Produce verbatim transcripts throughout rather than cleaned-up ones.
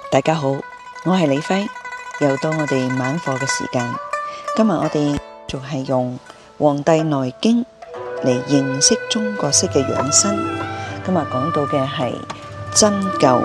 大家好，我係李輝，又到我哋晚課嘅時間。今日我哋仲係用《黃帝內經》嚟認識中國式嘅養生。今日講到嘅係針灸。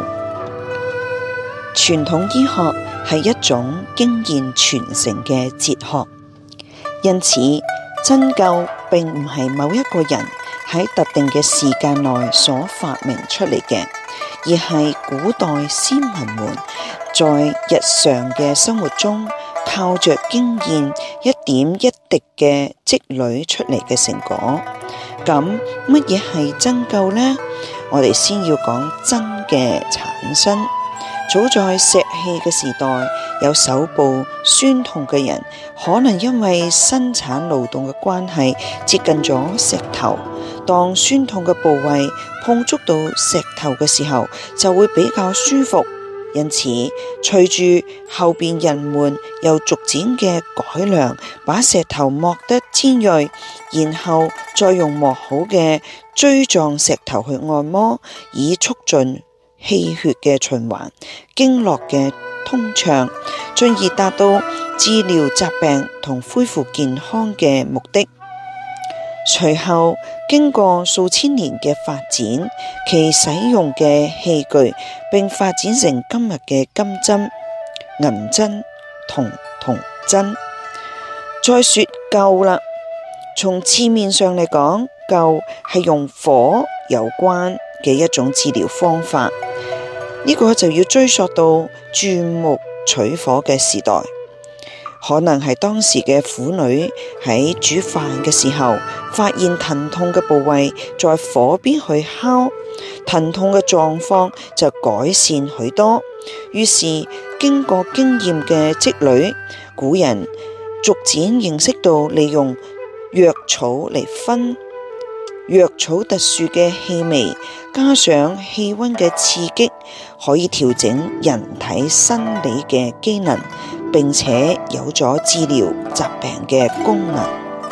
傳統醫學係一種經驗傳承嘅哲學，因此針灸並唔係某一個人喺特定嘅時間內所發明出嚟嘅，而係古代先民們在日常嘅生活中靠着經驗一點一滴嘅積累出嚟嘅成果。咁乜嘢係針灸呢？我哋先要講針嘅產生。早在石器嘅時代，有手部酸痛嘅人，可能因為生產勞動嘅關係接近咗石頭，當酸痛嘅部位碰觸到石頭嘅時候，就會比較舒服。因此隨住後邊人們又逐漸嘅改良，把石頭磨得尖銳，然後再用磨好嘅錐狀石頭去按摩，以促進氣血嘅循環、經絡嘅通暢，進而達到治療疾病同恢復健康嘅目的。隨後經過數千年嘅發展，其使用嘅器具並發展成今日嘅金針、銀針、銅銅針。再說灸啦，從字面上嚟講，灸係用火有關嘅一種治療方法。呢個就要追溯到鑽木取火嘅時代，可能係當時嘅婦女喺煮飯嘅時候，發現疼痛嘅部位，在火邊去烤，疼痛嘅狀況就改善許多。於是經過經驗嘅積累，古人逐漸認識到利用藥草嚟熏。藥草特殊嘅氣味，加上氣溫嘅刺激，可以調整人體生理嘅機能，並且有咗治療疾病嘅功能。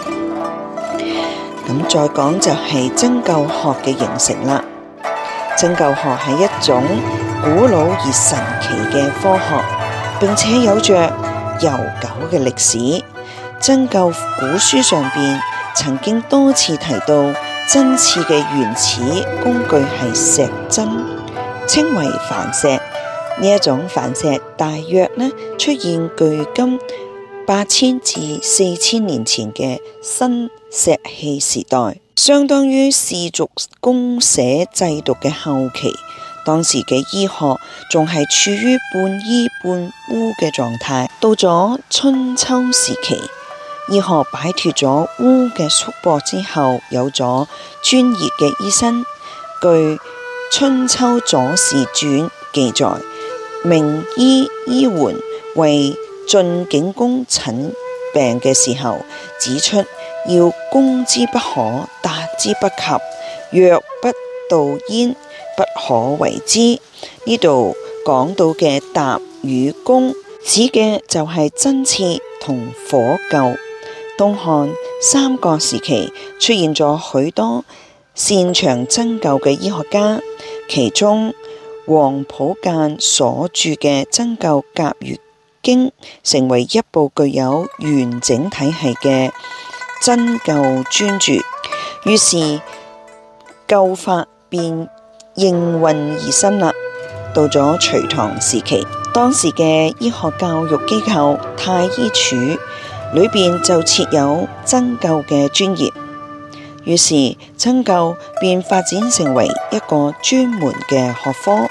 咁再講就係針灸學嘅形成啦。針灸學係一種古老而神奇嘅科學，並且有着悠久嘅歷史。針灸古書上邊曾經多次提到，針刺嘅原始工具係石針，稱為礬石。呢一種礬石大約呢出現距今八千至四千年前嘅新石器時代，相當於氏族公社制度嘅後期。當時嘅醫學仲係處於半醫半巫嘅狀態。到咗春秋時期，醫學擺脫咗巫嘅束縛之後，有咗專業嘅醫生。據《春秋左氏傳》記載，名醫醫桓為晉景公診病嘅時候，指出要攻之不可，達之不及，若不導焉，不可為之。呢度講到嘅達與攻，指嘅就係針刺同火灸。東漢、三國時期出現咗許多擅長針灸嘅醫學家，其中黃甫諫所著嘅《針灸甲乙經》成為一部具有完整體系嘅針灸專著，於是灸法便應運而生啦。到咗隋唐時期，當時嘅醫學教育機構太醫處裏邊就設有針灸嘅專業，於是針灸便發展成為一個專門嘅學科。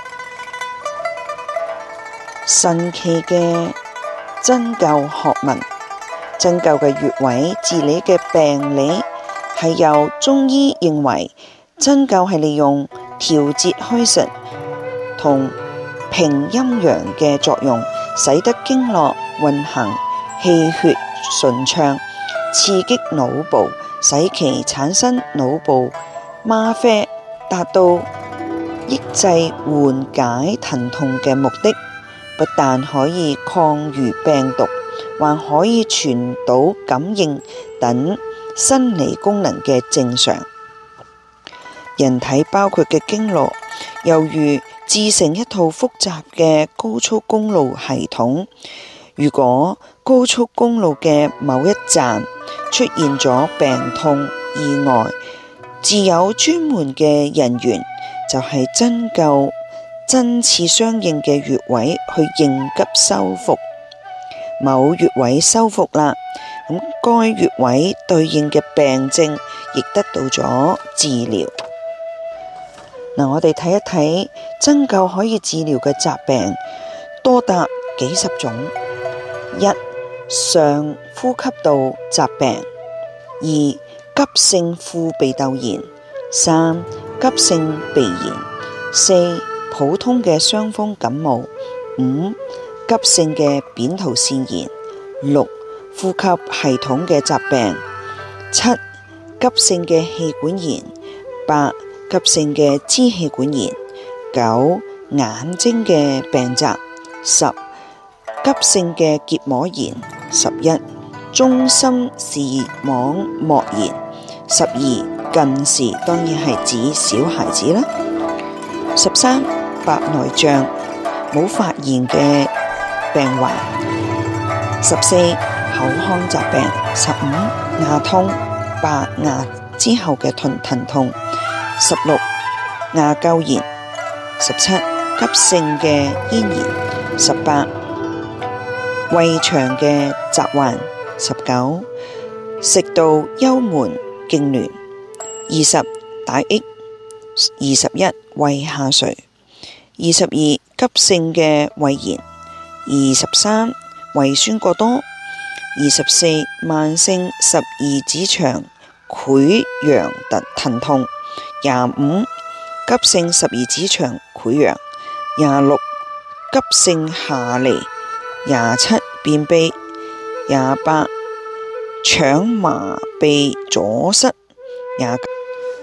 神奇嘅針灸學問，針灸嘅穴位治理嘅病理，係由中醫認為針灸係利用調節虛實同平陰陽嘅作用，使得經絡運行，氣血順暢，刺激腦部，使其產生腦部嗎啡，達到抑制緩解疼痛嘅目的。不但可以抗禦病毒，還可以傳導感應等生理功能嘅正常。人體包括嘅經絡，猶如自成一套複雜嘅高速公路系統。如果高速公路嘅某一站出現咗病痛意外，自有專門嘅人員就係針灸針刺相應嘅穴位去應急修復。某穴位修復啦，咁該穴位對應嘅病症亦得到咗治療。嗱，我哋睇一睇針灸可以治療嘅疾病多達幾十種。一、上呼吸道疾病；二、急性副鼻竇炎；三、急性鼻炎；四、普通嘅傷風感冒；五、急性嘅扁桃腺炎；六、呼吸系統嘅疾病；七、急性嘅氣管炎；八、急性嘅支氣管炎；九、眼睛嘅病疾；十、急性嘅結膜炎；十一、中心視網膜炎；十二、近視，當然係指小孩子啦；十三、白內障冇發炎嘅病患；十四、口腔疾病；十五、牙痛白牙之後嘅疼疼痛；十六、牙垢炎；十七、急性嘅咽炎；十八、胃腸嘅疾患；十九、食道幽門痙攣；二十、大益；二十一、胃下垂；二十二、急性嘅胃炎；二十三、胃酸過多；二十四、慢性十二指腸潰瘍疼疼痛；廿五、急性十二指腸潰瘍；廿六、急性下痢；廿七、便秘；廿八、腸麻痹阻塞；廿九、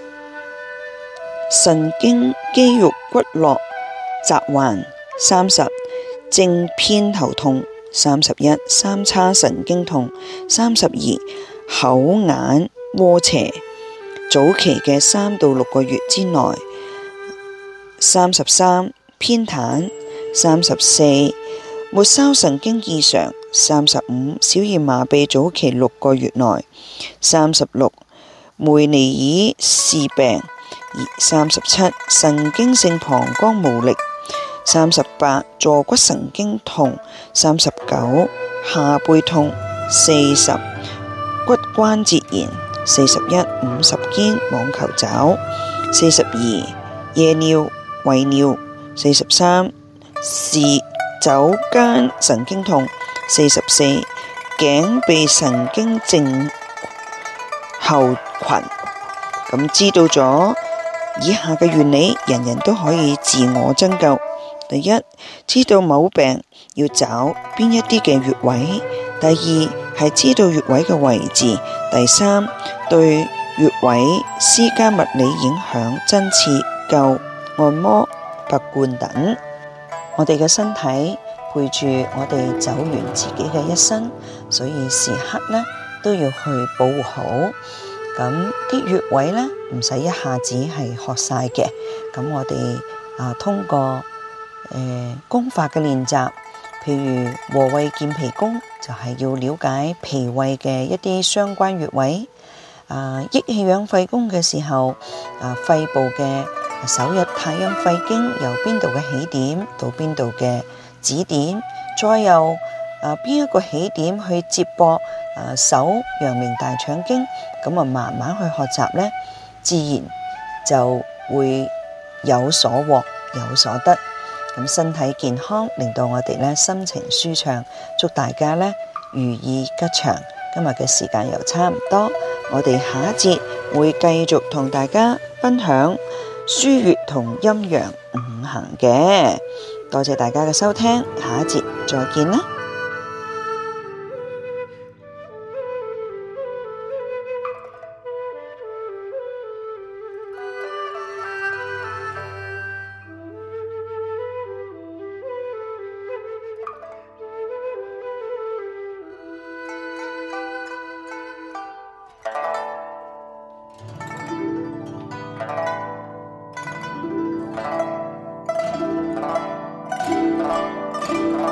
神經肌肉骨骼疾患；三十、正偏頭痛；三十一、三叉神經痛；三十二、口眼窩斜，早期嘅三到六個月之內；三十三、偏癱；三十四、末梢神經異常；三十五、小兒麻痹早期六個月內；三十六、梅尼爾氏病；三十七、神經性膀胱無力；三十八、坐骨神經痛；三十九、下背痛；四十、骨關節炎；四十一、五十肩網球肘；四十二、夜尿、遺尿；四十三、是肘間神經痛；四十四、頸臂神經症候群。咁知道咗以下嘅原理，人人都可以自我針灸。第一，知道某病要找邊一啲嘅穴位；第二，係知道穴位嘅位置；第三，對穴位施加物理影響，針刺、灸、按摩、拔罐等。我哋嘅身體陪住我哋走完自己嘅一生，所以時刻呢都要去保護好。咁啲穴位呢唔使一下子係學晒嘅，咁我哋啊通過誒、呃、功法嘅練習，譬如和胃健脾功，就係、是、要了解脾胃嘅一啲相關穴位。啊，益氣養肺功嘅時候，啊肺部嘅手入太陰肺經由邊度嘅起點到邊度嘅止點，再由啊邊一個起點去接駁啊手陽明大腸經，咁啊慢慢去學習呢，自然就會有所獲有所得。咁身體健康，令到我哋呢心情舒暢。祝大家呢如意吉祥。今日嘅時間又差唔多，我哋下一節會繼續同大家分享腧穴同陰陽五行嘅。多謝大家嘅收聽，下一節再見啦。 拜。